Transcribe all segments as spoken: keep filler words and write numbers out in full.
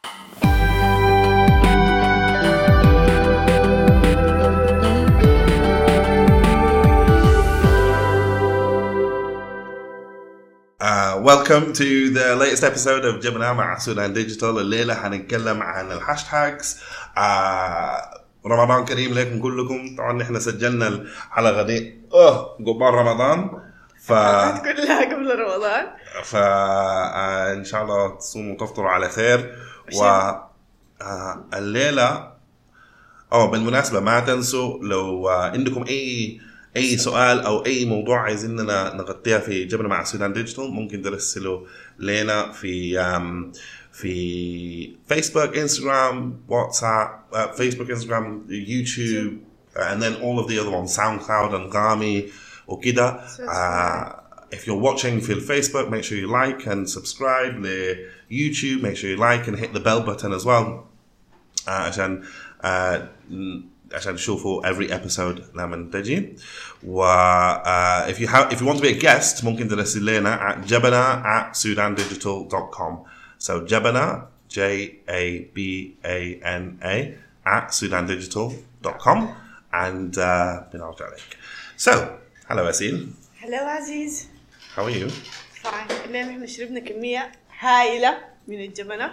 Uh, welcome to the latest episode of جبنا مع سودان ديجيتال. الليلة حنتكلم عن الهاشتاجز. uh, رمضان كريم لكم كلكم. طبعا نحن سجلنا الحلقة دي اه قبل رمضان ف كلها قبل رمضان فإن شاء الله تصوموا وتفطروا على خير. والليلة اه بالمناسبة ما تنسوا لو عندكم أي أي سؤال أو أي موضوع عايزيننا نغطيها في جبنا مع سودان ديجيتال ممكن ترسلوا لنا في في فيسبوك إنستغرام واتساب فيسبوك إنستغرام يوتيوب and then all of the other ones SoundCloud Anghami وكده. uh, if you're watching في Facebook make sure you like and subscribe ل YouTube, make sure you like and hit the bell button as well uh, عشان uh, عشان تشوفوا every episode لما تجي. و uh, if you have if you want to be a guest ممكن ترسل لنا at jabana at sudan digital dot com. so jabana J A B A N A at sudan digital dot com and uh, بنرجع عليك. So hello Asil. hello عزيز. How are you? fine. الليلة احنا شربنا كمية هائلة من الجبنة.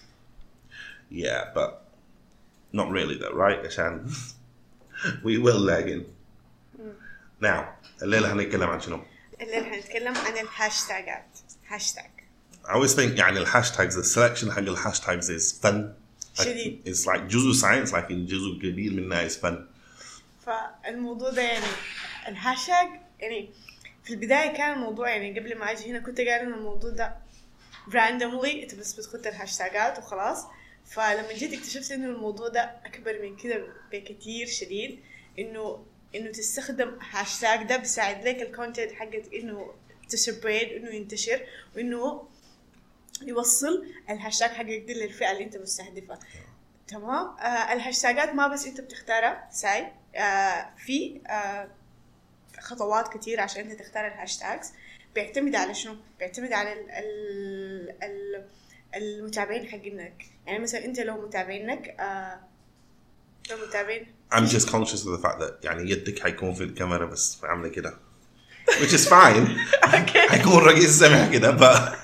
Yeah, but not really though, right? عشان we will lag in. Now, الليلة هنتكلم عن شنو؟ الليلة هنتكلم عن الهاشتاجات. هاشتاج. I always think يعني الهاشتاجز the selection حق الهاشتاجز is fun. شديد. It's like جزء science like جزء كبير منها is fun. فالموضوع ده يعني الهاشتاج يعني في البداية كان الموضوع يعني قبل ما أجي هنا كنت قاعد إن الموضوع ده randomly أنت بس بتخط الهاشتاجات وخلاص. فلما جيت اكتشفت إنه الموضوع ده أكبر من كده بكتير شديد. إنه إنه تستخدم هاشتاج ده بيساعد لك الكونتنت حقك إنه تسبريد إنه ينتشر وإنه يوصل الهاشتاج حقك دي للفئة اللي أنت مستهدفها. تمام. آه الهاشتاجات ما بس أنت بتختارها ساي. آه في آه خطوات كتير عشان أنت تختار الهاشتاجز. بيعتمد على شنو؟ بيعتمد على ال ال ال المتابعين حقينك. يعني مثلا أنت لو متابعينك آه لو متابعين I'm just conscious of the fact that يعني يدك حيكون في الكاميرا بس عامله كده which is fine. حيكون رقيق السمع كده ب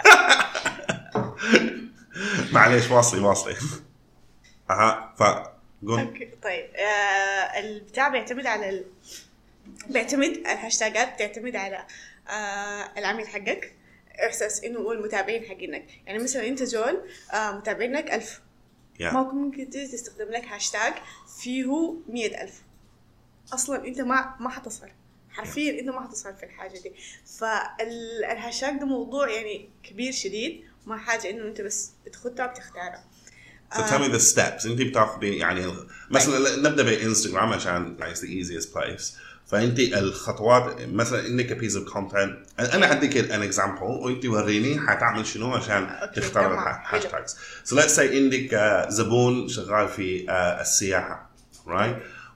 معليش واصلي واصلي اها فقول. اوكي طيب. آه البتاع بيعتمد على ال... بيعتمد الهاشتاجات بتعتمد على آه العميل حقك احساس انه هو المتابعين حقينك. يعني مثلا انت زول آه متابعينك ألف yeah. ما ممكن تستخدم لك هاشتاج فيه مية ألف اصلا انت ما ما حتصل حرفيا yeah. انت ما حتصل في الحاجه دي. فالهاشتاج ده موضوع يعني كبير شديد ما حاجه انه انت بس بتخطها بتختارها. So tell me the steps. انت بتاخذي يعني مثلا نبدا بانستغرام عشان it's the easiest place. فانت الخطوات مثلا انك a piece of content انا حديك an example وانت وريني حتعمل شنو عشان تختار الهاشتاجز. So let's say عندك uh, زبون شغال في uh, السياحه right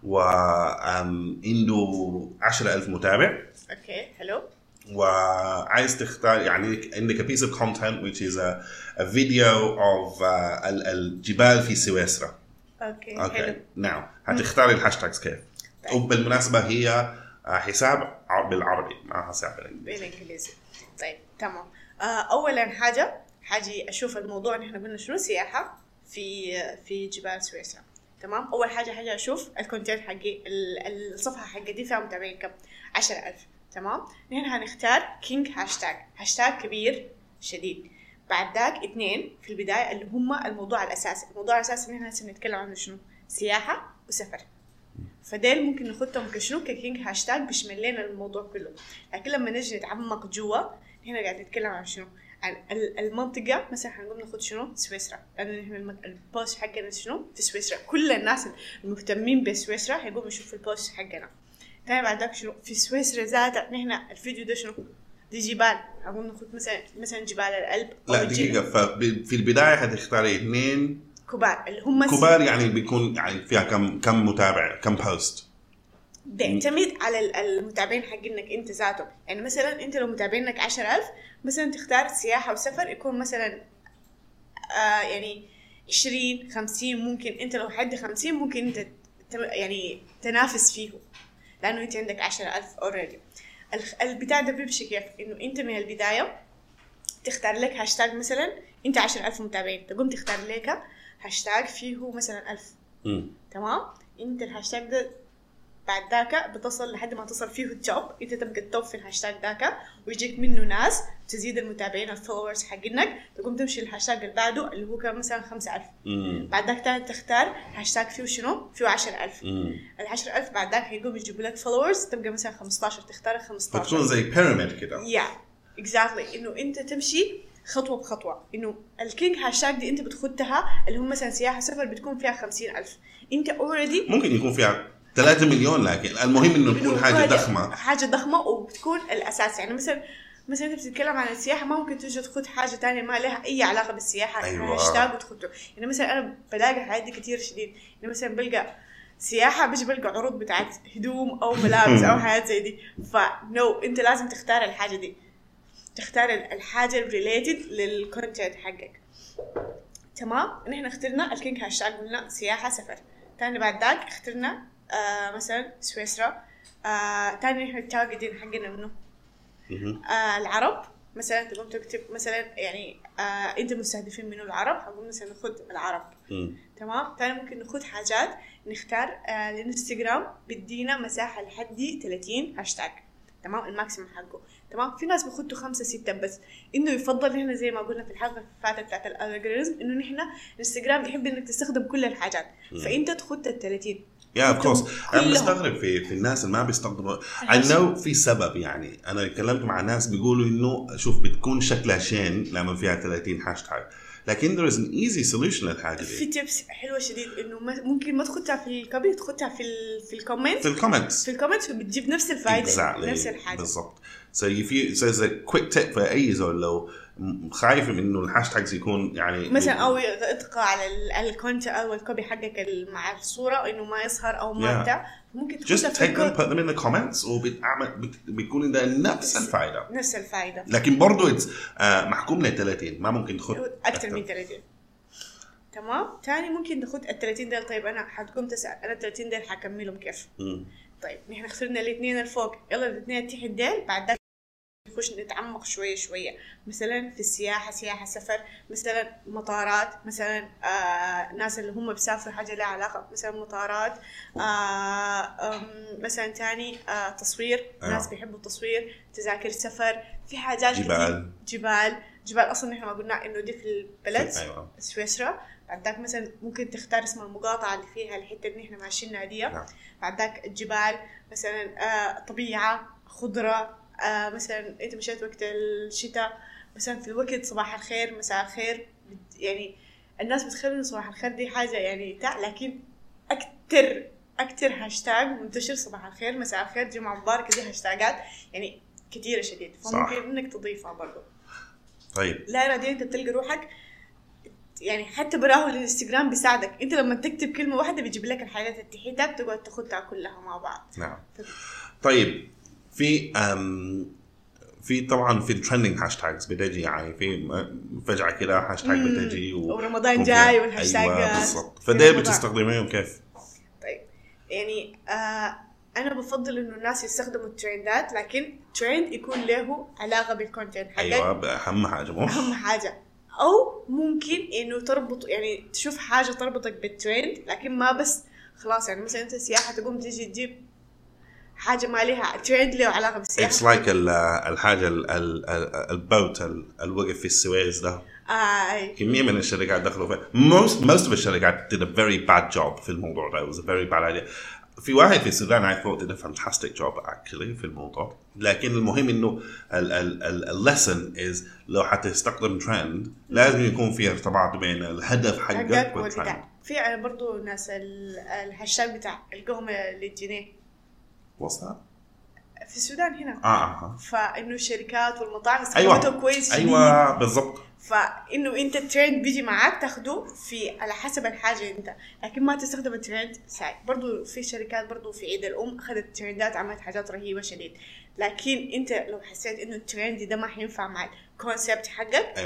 وعنده عشرة ألف متابع. اوكي حلو. وعايز تختار يعني عندك a piece of content which is a, a video of uh, الجبال في سويسرا. اوكي اوكي ناو هتختاري الهاشتاجز كيف؟ طيب. وبالمناسبة هي حساب بالعربي ما حساب بالانجليزي. طيب تمام. اولا حاجة حاجي اشوف الموضوع ان احنا قلنا شنو سياحة في في جبال سويسرا. تمام. اول حاجة حاجة اشوف الكونتنت حقي الصفحة حقي دي فيها متابعين كم؟ عشرة ألف. تمام. نحن هنختار كينج هاشتاج هاشتاج كبير شديد. بعد ذاك اثنين في البداية اللي هم الموضوع الأساسي. الموضوع الأساسي اللي نحن سنتكلم عنه شنو؟ سياحة وسفر. فديل ممكن نخطهم كشنو ككينج هاشتاج بيشمل لنا الموضوع كله. لكن لما نجي نتعمق جوا هنا قاعد نتكلم عن شنو؟ عن المنطقة. مثلا هنقوم ناخد شنو؟ سويسرا. لأنه البوست حقنا شنو؟ في سويسرا. كل الناس المهتمين بسويسرا هيقوموا يشوفوا البوست حقنا. تاني بعد ذاك شنو في سويسرا ذاتها نحن الفيديو ده شنو دي جبال. أقول ناخد مثلا مثلا جبال الألب. لا دقيقة. ففي البداية هتختاري اثنين كبار اللي هم كبار يعني بيكون يعني فيها كم كم متابع كم بوست. بيعتمد على المتابعين حقينك انت ذاته. يعني مثلا انت لو متابعينك عشرة ألف مثلا تختار سياحة وسفر يكون مثلا آه يعني عشرين خمسين ممكن انت لو حد خمسين ممكن انت يعني تنافس فيه لانه انت عندك عشرة ألف اوريدي. البتاع ده بيمشي كيف؟ انه انت من البدايه تختار لك هاشتاج، مثلا انت عشرة ألف متابعين تقوم تختار لك هاشتاج فيه مثلا ألف. م. تمام. انت الهاشتاج ده بعد ذاك بتصل لحد ما تصل فيه التوب، انت تبقى التوب في الهاشتاج ذاك ويجيك منه ناس تزيد المتابعين الفولورز حقينك، تقوم تمشي الهاشتاج اللي بعده اللي هو كان مثلا خمسة ألف. م. بعد ذاك تاني تختار هاشتاج فيه شنو فيه عشرة ألف. م. العشرة ألف بعد ذاك هيقوم يجيبوا لك فولورز تبقى مثلا خمستاشر، تختار خمستاشر. فتكون زي بيراميد كده. يا اكزاكتلي انه انت تمشي خطوه بخطوه. انه الكينج هاشتاج دي انت بتخدها اللي هم مثلا سياحه سفر بتكون فيها خمسين ألف، انت اوريدي ممكن يكون فيها ثلاثة مليون، لكن المهم انه تكون حاجه ضخمه حاجه ضخمه وبتكون الاساس. يعني مثلا مثلا انت بتتكلم عن السياحه ما ممكن تيجي تاخذ حاجه تانية ما لها اي علاقه بالسياحه. أيوة. هاشتاج وتخده. يعني مثلا انا بلاقي حاجات كتير شديد، يعني مثلا بلقى سياحه بيجي بلقى عروض بتاعت هدوم او ملابس او حاجات زي دي. فنو انت لازم تختار الحاجه دي، تختار الحاجه الريليتد للكونتنت حقك. تمام. نحن اخترنا الكينج هاشتاج قلنا سياحه سفر. تاني بعد ذاك اخترنا آه مثلا سويسرا. آه تاني نحن التارجتين حقنا منه آه العرب. مثلا تقوم تكتب مثلا يعني آه انت مستهدفين منه العرب، هنقول مثلا ناخذ العرب. م. تمام. تاني ممكن ناخذ حاجات نختار آه الانستغرام بدينا مساحه لحد ثلاثين هاشتاج. تمام. الماكسيمم حقه. تمام. في ناس بيخدوا خمسة ستة بس، انه يفضل هنا زي ما قلنا في الحلقه اللي فاتت بتاعت الالجوريزم انه نحن الانستغرام يحب انك تستخدم كل الحاجات. م. فانت تخد ال ثلاثين. يا اوف كورس. انا مستغرب في في الناس اللي ما بيستخدموا. I know في سبب. يعني انا تكلمت مع ناس بيقولوا انه شوف بتكون شكلها شين لما فيها ثلاثين هاشتاج، لكن there is an easy solution للحاجه دي. في تيبس حلوه شديد انه ممكن ما تخدها في الكوبي، تخدها في ال في الكومنت في الكومنتس في الكومنتس وبتجيب نفس الفائده. exactly. نفس الحاجه بالضبط. so if you so as a quick tip for اي زول لو خايف من انه الهاشتاجز يكون يعني مثلا او يطغى على الكونت او الكوبي حقك مع الصوره انه ما يظهر او ما بتاع yeah. ممكن just take them put them in the comments وبتعمل بيكون ده نفس الفائده نفس الفائده. لكن برضو آه محكوم ل ثلاثين، ما ممكن تاخذ اكثر من ثلاثين. تمام. تاني ممكن ناخذ ال ثلاثين ديل. طيب انا حتقوم تسال انا ال ثلاثين ديل حكملهم كيف؟ م. طيب نحن اخترنا الاثنين الفوق، يلا الاثنين تحت ديل. بعد ذلك نخش نتعمق شويه شويه. مثلا في السياحه سياحه سفر، مثلا مطارات، مثلا آه ناس اللي هم بيسافروا حاجه لها علاقه مثلا مطارات. آه مثلا تاني آه تصوير. آه. ناس بيحبوا التصوير، تذاكر سفر، في حاجات جبال جبال جبال اصلا نحن ما قلنا انه دي في البلد. أيوة. سويسرا. بعد ذاك مثلا ممكن تختار اسم المقاطعه اللي فيها الحته اللي نحن ماشيين دي. نعم. بعد ذاك الجبال مثلا آه طبيعه خضره. آه مثلا انت مشيت وقت الشتاء، مثلا في الوقت صباح الخير مساء الخير. يعني الناس بتخيل صباح الخير دي حاجه يعني تاع، لكن اكتر اكتر هاشتاج منتشر صباح الخير مساء الخير جمعه مباركه. دي هاشتاجات يعني كثيره شديد، فممكن انك تضيفها برضو. طيب لا اراديا انت بتلقى روحك يعني حتى براه الانستغرام بيساعدك. انت لما تكتب كلمه واحده بيجيب لك الحاجات التحيتات تقعد تاخدها كلها مع بعض. نعم. ف... طيب في أم في طبعا في الترندنج هاشتاجز بتجي، يعني في فجأة كده هاشتاج بتجي و... ورمضان جاي والهاشتاج أيوة بالضبط. فده بتستخدميه كيف؟ طيب يعني آه انا بفضل انه الناس يستخدموا الترندات، لكن ترند يكون له علاقه بالكونتنت حقك. ايوه اهم حاجه مو اهم حاجه. او ممكن انه تربط يعني تشوف حاجه تربطك بالترند، لكن ما بس خلاص. يعني مثلا انت سياحه تقوم تيجي تجيب حاجه ما لها ترند له علاقه بالسياحه. It's like الحاجه البوت الوقف في السويس ده. آه. كمية من الشركات دخلوا فيه. most most of الشركات did a very bad job في الموضوع ده. It was a very bad idea. في واحد في السودان I thought did a fantastic job actually في الموضوع. لكن المهم إنه ال ال ال ال lesson is لو حتستخدم trend لازم يكون في ارتباط بين الهدف حقك والtrend. في برضو ناس الهاشتاج بتاع القهوة للجنيه. What's that؟ في السودان هنا. آه آه. فإنه الشركات والمطاعم استخدمته أيوة. كويس. أيوة بالضبط. فإنه أنت الترند بيجي معاك تاخده في على حسب الحاجة أنت، لكن ما تستخدم الترند ساي. برضو في شركات برضو في عيد الأم أخذت الترندات عملت حاجات رهيبة شديد، لكن أنت لو حسيت إنه الترند ده ما حينفع مع الكونسبت حقك أيوة.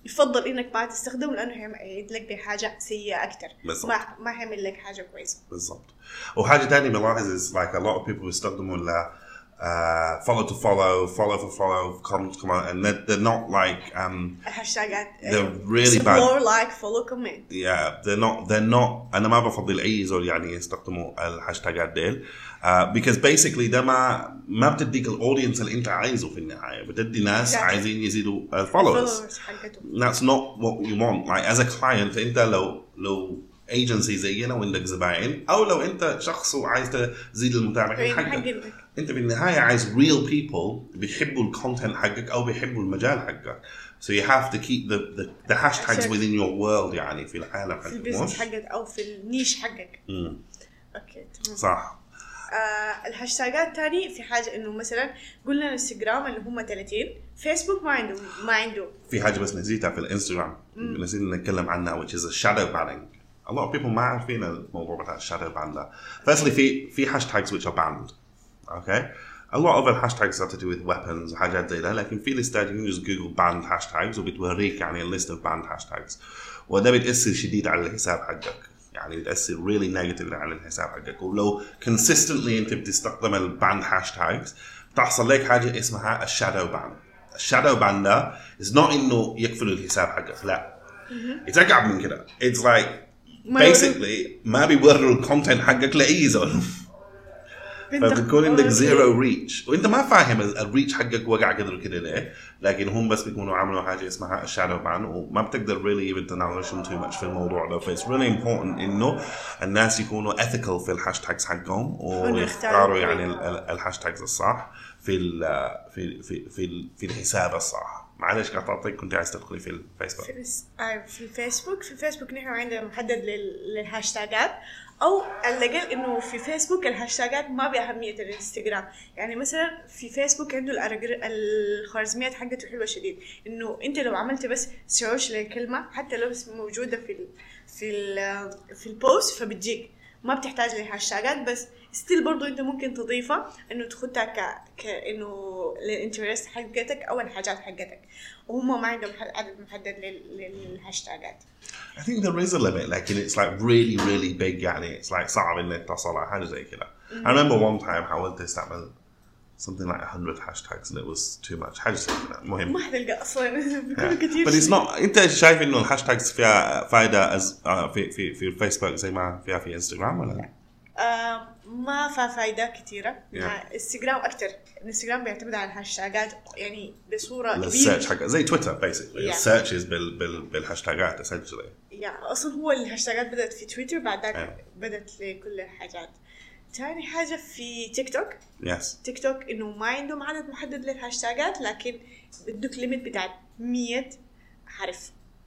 يفضل انك ما تستخدمه لانه هيعيد لك بحاجه سيئه اكثر. ما ما هيعمل لك حاجه كويسه. بالضبط. وحاجه ثانيه بلاحظ is like a lot of people بيستخدموا ال uh, follow to follow, follow for follow, comment to comment, and they're, they're not like um الهاشتاجات they're really bad. Explore, like, follow, comment. Yeah, they're not they're not. أنا ما بفضل أي زول يعني يستخدموا الهاشتاجات ديل uh, because basically ده ما ما بتديك الأودينس اللي أنت عايزه في النهاية. بتدي ناس عايزين يزيدوا الفولورز. That's not what you want. Like as a client أنت لو لو agency زينا وعندك زباين أو لو أنت شخص وعايز تزيد المتابعين حقك، أنت بالنهاية عايز real people بيحبوا الكونتنت حقك أو بيحبوا المجال حقك. So you have to keep the the, the hashtags within your world يعني في العالم حقك. في البيزنس حقك أو في النيش حقك. امم أوكي تمام. صح. آه الهاشتاجات تاني في حاجة إنه مثلا قلنا الانستغرام اللي هم ثلاثين، فيسبوك ما عنده ما عنده. في حاجة بس نسيتها في الانستغرام نسينا نتكلم عنها which is a shadow banning. A lot of people ما عارفين الموضوع بتاع shadow ban ده. Firstly في في hashtags which are banned. Okay. A lot of the hashtags have to do with weapons وحاجات زي ده، لكن في ليستات you can just Google banned hashtags وبتوريك يعني a list of banned hashtags، وده بتأثر شديد على الحساب حقك، يعني بتأثر really negatively على الحساب حقك. ولو consistently أنت بتستخدم ال banned hashtags تحصل لك حاجة اسمها الشادو بان. الشادو بان ده is not إنه يقفل الحساب حقك، لا it's أكعب من كده. It's like basically ما بيوروا الكونتنت حقك لأي زول. فبتكون عندك زيرو ريتش وانت ما فاهم الريتش حقك وقع قدر كده ليه، لكن هم بس بيكونوا عملوا حاجه اسمها الشادو بان وما بتقدر really even تناقشهم too much في الموضوع ده. فايتس really important انه الناس يكونوا ethical في الهاشتاجز حقهم ويختاروا يعني الهاشتاجز الصح في ال في في في في الحساب الصح. معلش قطعتك، كنت عايز تدخلي في الفيسبوك. في, في الفيسبوك في الفيسبوك نحن عندنا محدد للهاشتاجات، او اللي قال انه في فيسبوك الهاشتاجات ما بأهمية الانستغرام. يعني مثلا في فيسبوك عنده الخوارزميات حقته حلوه شديد، انه انت لو عملت بس سيرش للكلمه حتى لو بس موجوده في ال في ال في البوست فبتجيك، ما بتحتاج لهاشتاجات. بس ستيل برضو انت ممكن تضيفها انه تاخدها ك كانه للانترست حقتك او الحاجات حقتك، وهم ما عندهم عدد محدد للهاشتاجات. I think there is a limit, لكن it's like really really big يعني it's like صعب انك تصل على حاجه زي كده. I remember one time حاولت استعمل something like one hundred hashtags and it was too much. حاجه زي كده مهم. ما حتلقى اصلا بيكونوا كثير. But it's not. انت شايف انه الهاشتاجز فيها فائده في في في الفيسبوك زي ما فيها في انستغرام ولا لا؟ آه ما فيها فايدة كثيرة. yeah. انستغرام أكتر. انستغرام بيعتمد على الهاشتاجات يعني بصورة كبيرة. السيرش حقه زي تويتر basically. yeah. السيرشز بال بال بالهاشتاجات essentially. يا yeah. أصلا هو الهاشتاجات بدأت في تويتر بعدك yeah. بدأت لكل الحاجات. تاني حاجة في تيك توك. yes. تيك توك إنه ما عندهم عدد محدد للهاشتاجات، لكن بدك ليميت بتاع مية حرف.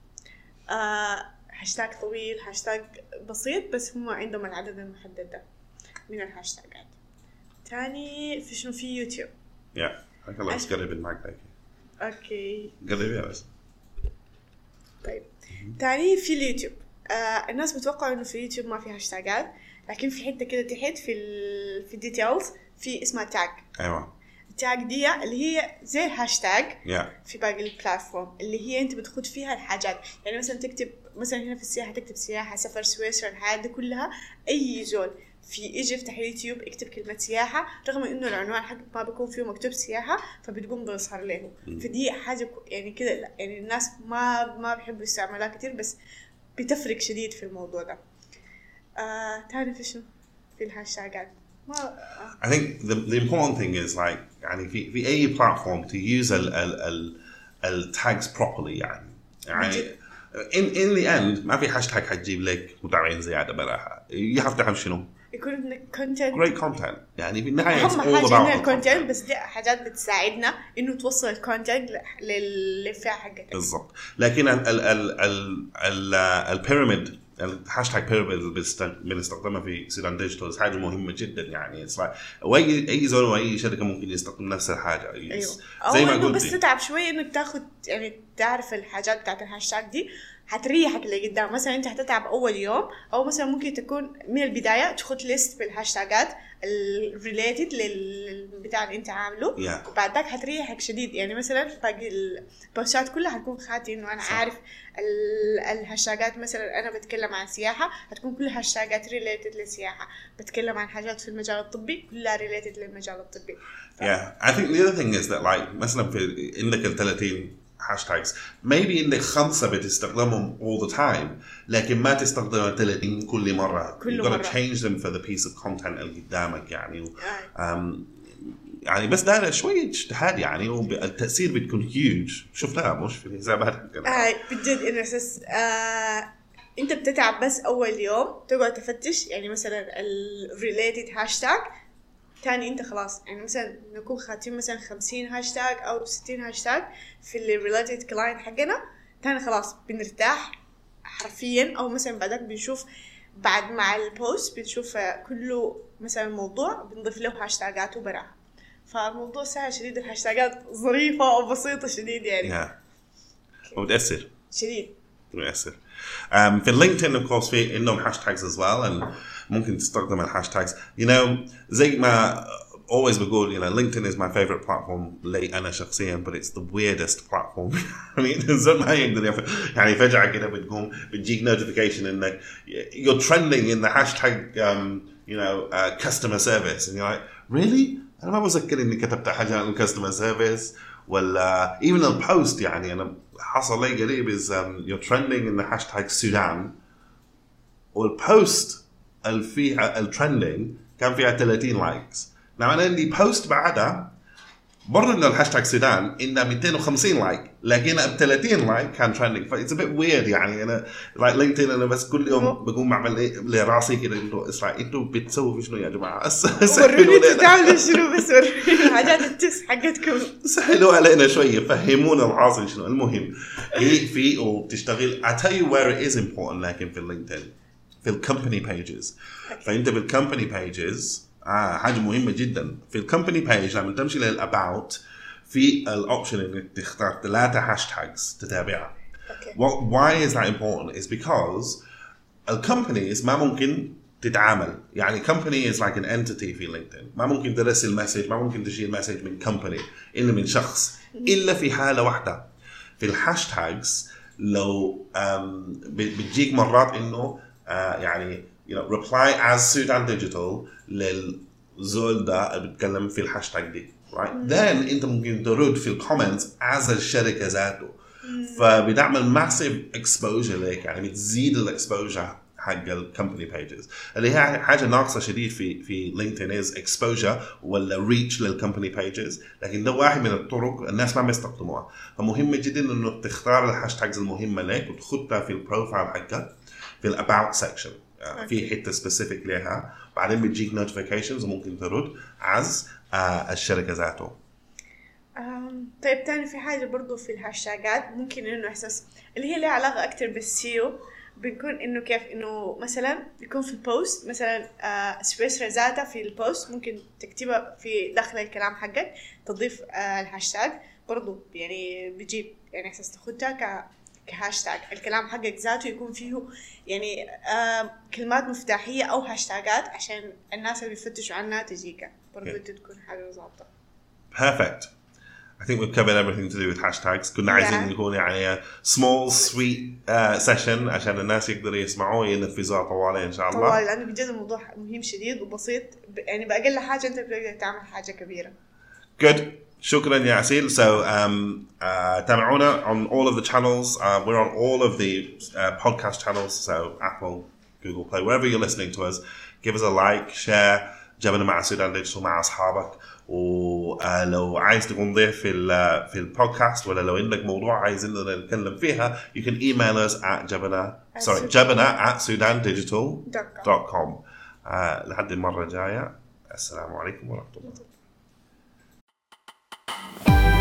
آه هاشتاج طويل، هاشتاج بسيط، بس هم عندهم العدد المحدد ده من الهاشتاجات. تاني في شنو في يوتيوب. يا هيك الله تقرب المايك هيك. اوكي قربي بس. طيب تاني في اليوتيوب. آه الناس بتوقعوا انه في اليوتيوب ما في هاشتاجات، لكن في حته كده تحت في ال في الديتيلز في اسمها تاج. ايوه التاج دي اللي هي زي الهاشتاج yeah. في باقي البلاتفورم اللي هي انت بتخد فيها الحاجات. يعني مثلا تكتب مثلا هنا في السياحه تكتب سياحه، سفر، سويسرا، الحاجات دي كلها. اي زول في يجي يفتح يوتيوب يكتب كلمه سياحه رغم انه العنوان حق ما بيكون فيه مكتوب سياحه فبتقوم بيظهر له. فدي حاجه يعني كده يعني الناس ما ما بيحبوا يستعملوها كتير، بس بتفرق شديد في الموضوع ده. آه تعرف شنو في الهاشتاجات؟ I think the the important thing is like يعني في في أي platform to use ال ال ال ال tags properly يعني يعني in in the end ما في هاشتاج حتجيب لك متابعين زيادة بلاها. you have to have شنو؟ يكون عندك content great content يعني في النهاية أهم حاجة عندنا content، بس دي حاجات بتساعدنا إنه توصل الcontent للفئة حقتك. بالضبط. لكن ال ال ال ال ال البيراميد الهاشتاج بيراميد اللي بنستخدمها في سودان ديجيتال حاجة مهمة جدا يعني. واي اي زول واي شركة ممكن يستخدم نفس الحاجة. أيوة. زي ما قلت بس تتعب شوي إنك تاخد يعني تعرف الحاجات بتاعت الهاشتاج دي، هتريحك اللي قدام. مثلا انت هتتعب اول يوم، او مثلا ممكن تكون من البدايه تخط ليست بالهاشتاجات الريليتد للبتاع اللي انت عامله yeah. وبعد ذاك هتريحك شديد. يعني مثلا باقي البوستات كلها هتكون خاتي انه انا عارف الهاشتاجات. مثلا انا بتكلم عن سياحه هتكون كلها هاشتاجات ريليتد للسياحه، بتكلم عن حاجات في المجال الطبي كلها ريليتد للمجال الطبي. ف... yeah I think the other thing is that like مثلا في عندك ال ثلاثين hashtags maybe عندك خمسة بتستخدمهم all the time لكن ما تستخدم ثلاثين كل مرة. كل you gotta مرة. change them for the piece of content اللي قدامك يعني. um, يعني بس ده شوية اجتهاد يعني، والتأثير بتكون huge. شفتها مش في الحسابات. آه بجد إنه أساس آه أنت بتتعب بس أول يوم تقعد تفتش يعني مثلا الريليتد هاشتاج. تاني أنت خلاص يعني مثلا نكون خاتين مثلا خمسين هاشتاج أو ستين هاشتاج في اللي ريليتد كلاين حقنا. تاني خلاص بنرتاح حرفيا. أو مثلا بعدك بنشوف بعد مع البوست بنشوف كله مثلا موضوع بنضيف له هاشتاجات وبراها. فالموضوع سهل شديد. الهاشتاجات ظريفة وبسيطة شديد يعني. yeah. وبتأثر شديد. بتأثر. um, في اللينكدين of course في إنهم hashtags as well and ممكن تستخدم الهاشتاجز. you know زي ما always بقول you know LinkedIn is my favorite platform لي أنا شخصيا but it's the weirdest platform. يعني الإنسان ما يقدر يف... يعني فجأة كده بتقوم بتجيك notification إنك you're trending in the hashtag um, you know uh, customer service and you're like really أنا ما بذكر إني كتبت حاجة عن customer service ولا even the post. يعني أنا حصل لي قريب is um, you're trending in the hashtag Sudan والpost الفيها الترندينج كان فيها ثلاثين لايكس. نعم أنا عندي post بعدها برضه إنه الهاشتاج سودان إنه مئتين وخمسين لايك لكن ب ثلاثين لايك كان ترندينج. ف it's a bit weird يعني. أنا like LinkedIn أنا بس كل يوم بقوم أعمل إيه لراسي كده إنه إسرع إنتوا بتسووا شنو يا جماعة؟ وروني تعملوا شنو بس وروني حاجات التكس حقتكم سهلوا علينا شوية فهمونا العاصي شنو. المهم هي في وبتشتغل. I tell you where it is important لكن في LinkedIn في الكمباني بيجز. فأنت بالكمباني بيجز آه حاجة مهمة جدا. في الكمباني بيج لما تمشي للأباوت في الأوبشن إنك تختار ثلاثة هاشتاجز تتابعها. okay. Well, why is that important? Is because الكمبانيز ما ممكن تتعامل يعني company is like an entity في LinkedIn. ما ممكن ترسل مسج ما ممكن تشيل مسج من company إلا من شخص إلا في حالة واحدة في الهاشتاجز. لو بتجيك مرات إنه آه يعني you know reply as Sudan Digital للزول ده اللي بيتكلم في الهاشتاج دي right mm-hmm. then انت ممكن ترد في الكومنتس as الشركة ذاته mm-hmm. فبتعمل massive exposure لك يعني بتزيد الاكسبوجر حق الكمباني بيجز اللي هي حاجة ناقصة شديد في في لينكدين is exposure ولا reach للكمباني بيجز. لكن ده واحد من الطرق الناس ما بيستخدموها. فمهم جدا انه تختار الهاشتاجز المهمة لك وتخطها في البروفايل حقك في الاباوت سيكشن في حته سبيسيفيك لها. بعدين بتجيك نوتيفيكيشنز وممكن ترد عز آه الشركه ذاته. طيب تاني في حاجه برضو في الهاشتاجات ممكن انه احساس اللي هي لها علاقه اكتر بالسيو. بنكون انه كيف انه مثلا يكون في البوست مثلا آه سبيس ذاته في البوست ممكن تكتبها في داخل الكلام حقك تضيف آه الهاشتاج برضو يعني بيجيب يعني احساس تاخدها ك كهاشتاج. الكلام حقك ذاته يكون فيه يعني آه كلمات مفتاحية أو هاشتاجات عشان الناس اللي بيفتشوا عنها تجيك برضو yeah. تكون حاجة ضابطة. Perfect. I think we've covered everything to do with hashtags. كنا yeah. عايزين نكون يعني small sweet uh, session عشان الناس يقدروا يسمعوه ينفذوها طوالي إن شاء الله. طوالي لأنه بجد الموضوع مهم شديد وبسيط يعني بأقل حاجة أنت بتقدر تعمل حاجة كبيرة. Good. شكرا يا عسيل. So um, uh, تابعونا on all of the channels. Uh, we're on all of the uh, podcast channels. So Apple, Google Play, wherever you're listening to us, give us a like, share. جبنا مع سودان ديجيتال مع أصحابك. ولو عايز تكون ضيف في ال في البودكاست ولا لو عندك موضوع عايزين نتكلم فيها, you can email us at جبنا sorry جبنا at sudan digital dot com. uh, لحد المرة الجاية. السلام عليكم ورحمة الله.